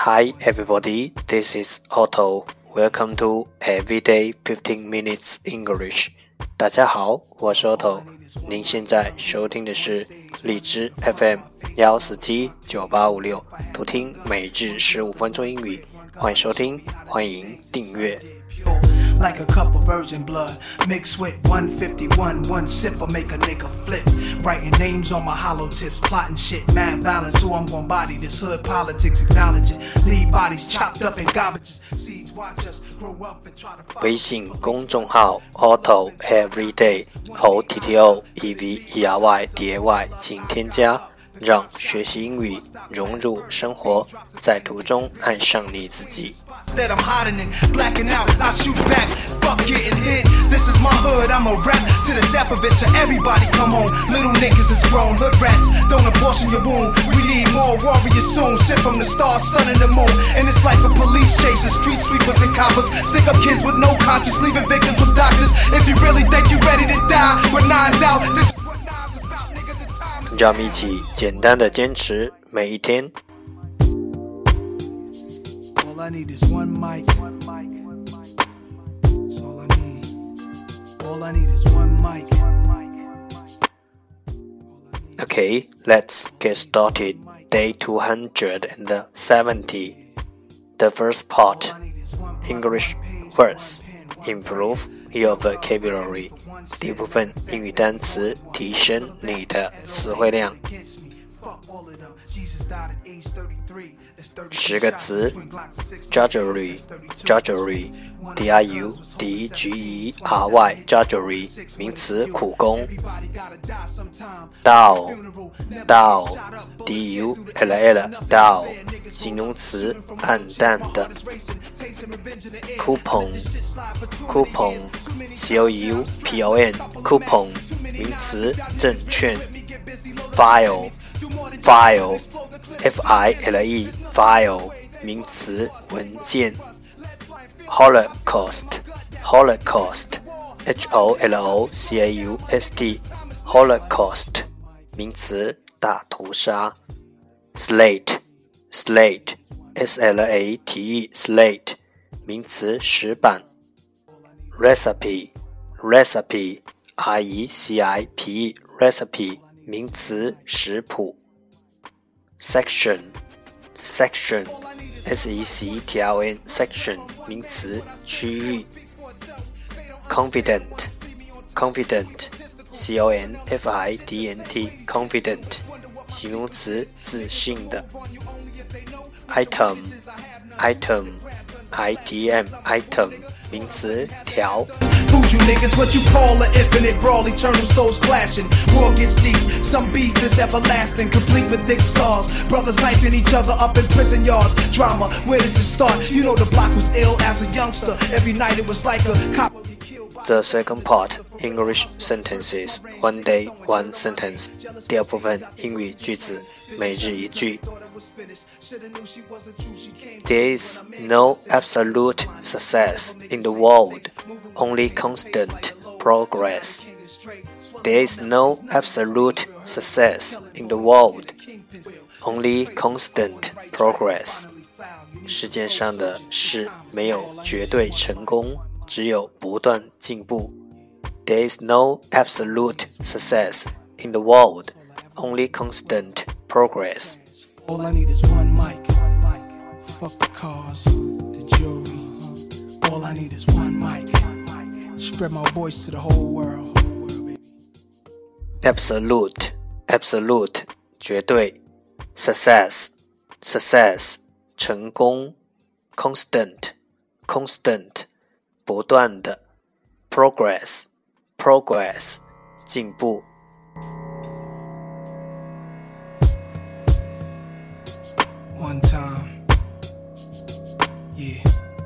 Hi everybody, this is Otto. Welcome to Everyday 15 Minutes English. 大家好，我是 Otto。您现在收听的是荔枝 FM 1479856，图听每日15分钟英语。欢迎收听，欢迎订阅。 Like a cup of virgin blood mixed with 151, one sip will make a nigga flip. Writing names on my hollow tips, plotting shit, mad balance. Who I'm gon' body this hood politics, acknowledge it. Leave bodies chopped up in garbages. Seeds watch us grow up and try to. 微信公众号 Otto Everyday OTTO EVERY DAY 请添加，让学习英语融入生活，在途中爱上你自己。 Instead I'm hiding it, blacking out, I shoot back. Fuck getting hit. This is my hood, I'm a rap to the death of it. To everybody come home. Little niggas is grown, hood rats. Don't abortion your wound. We need more warriors soon. Shit from the stars, sun and the moon. And it's like a police chasing street sweepers and coppers. Stick up kids with no conscience, leaving victims with doctors. If you really think you ready to die, with nines out, this is what nines is about, nigga. The time is. 让我们一起简单的坚持每一天。All I need is one mic. That's all I need. All I need is one mic. Okay, let's get started. Day 270. The first part, English verse. Improve your vocabulary. 第一部分英语单词，提升你的词汇量。10个词 Drudgery Drudgery D-R-U-D-G-E-R-Y Drudgery 名词苦工 Dull Dull D-U-L-L Dull 形容词暗淡的 Coupon Coupon C-O-U-P-O-N Coupon 名词证券 File File F-I-L-E File 名词文件 Holocaust Holocaust H-O-L-O-C-A-U-S-T Holocaust 名词大屠杀 Slate Slate S-L-A-T-E Slate 名词石板 Recipe Recipe R-E-C-I-P-E Recipe 名词食谱 Section Section S-E-C-T-I-O-N Section 名词区域 Confident Confident C-O-N-F-I-D-N-T Confident 形容词自信的 Item Item I-T-M Item 名词条 Food you niggas, what you call an infinite brawl, eternal souls clashing. War gets deep, some beef is everlasting, complete with thick scars. Brothers knifing each other up in prison yards. Drama, where does it start? You know the block was ill as a youngster. Every night it was like a cop would be killed by... The second part, English sentences, one day, one sentence. 第二部分英语句子，每日一句。There is no absolute success in the world, only constant progress. There is no absolute success in the world, only constant progress. 世界上的事没有绝对成功，只有不断进步。There is no absolute success in the world, only constant progress. All I need is one mic. Fuck the cars, the jury. All I need is one mic. Spread my voice to the whole world. Absolute, absolute, 绝对。Success, success, 成功。Constant, constant, 不断的。Progress, progress, 进步。 One time, yeah,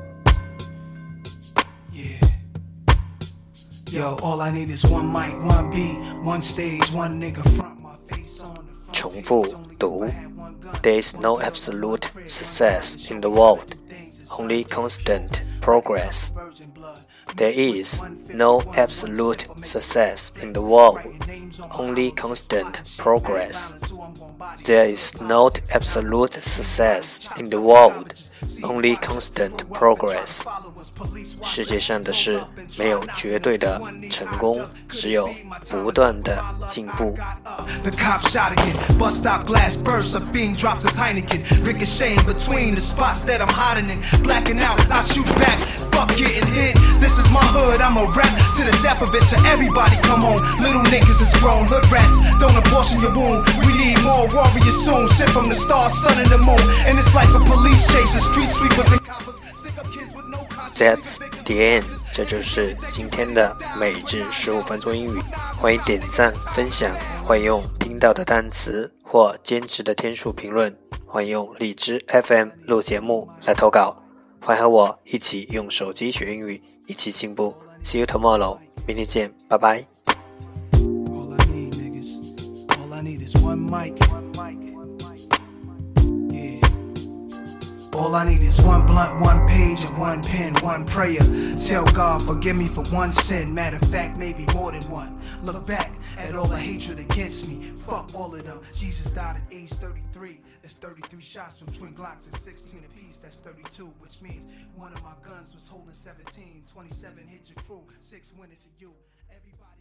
yeah. Yo, all I need is one mic, one beat, one stage, one nigga front my face on the front. 重复读 There is no absolute success in the world, only constant progress. There is no absolute success in the world, only constant progress. There is no absolute success in the world, only constant progress. 世界上的事没有绝对的成功，只有不断的进步。 The cop shot again, bus stop glass bursts, a fiend drops his Heineken, ricocheting between the spots that I'm hiding in, blacking out, I shoot back, fuck getting hit, this is my hood, I'm a rap to the death of it, to everybody come home, little niggas is grown, hood rats, don't abortion your wound, we need more warriors soon, sent from the stars, sun and the moon, and it's like a police chase, street sweepers and coppers, stick up kids with no That's the end. 这就是今天的每日15分钟英语。欢迎点赞、分享，欢迎用听到的单词或坚持的天数评论，欢迎用荔枝 FM 录节目来投稿。欢迎和我一起用手机学英语，一起进步。See you tomorrow. 明天见，拜拜。 All I need is one blunt, one page, and one pen, one prayer. Tell God, forgive me for one sin. Matter of fact, maybe more than one. Look back at all the hatred against me. Fuck all of them. Jesus died at age 33. That's 33 shots from twin Glocks and 16 apiece. That's 32, which means one of my guns was holding 17. 27 hit your crew, 6 went into you. Everybody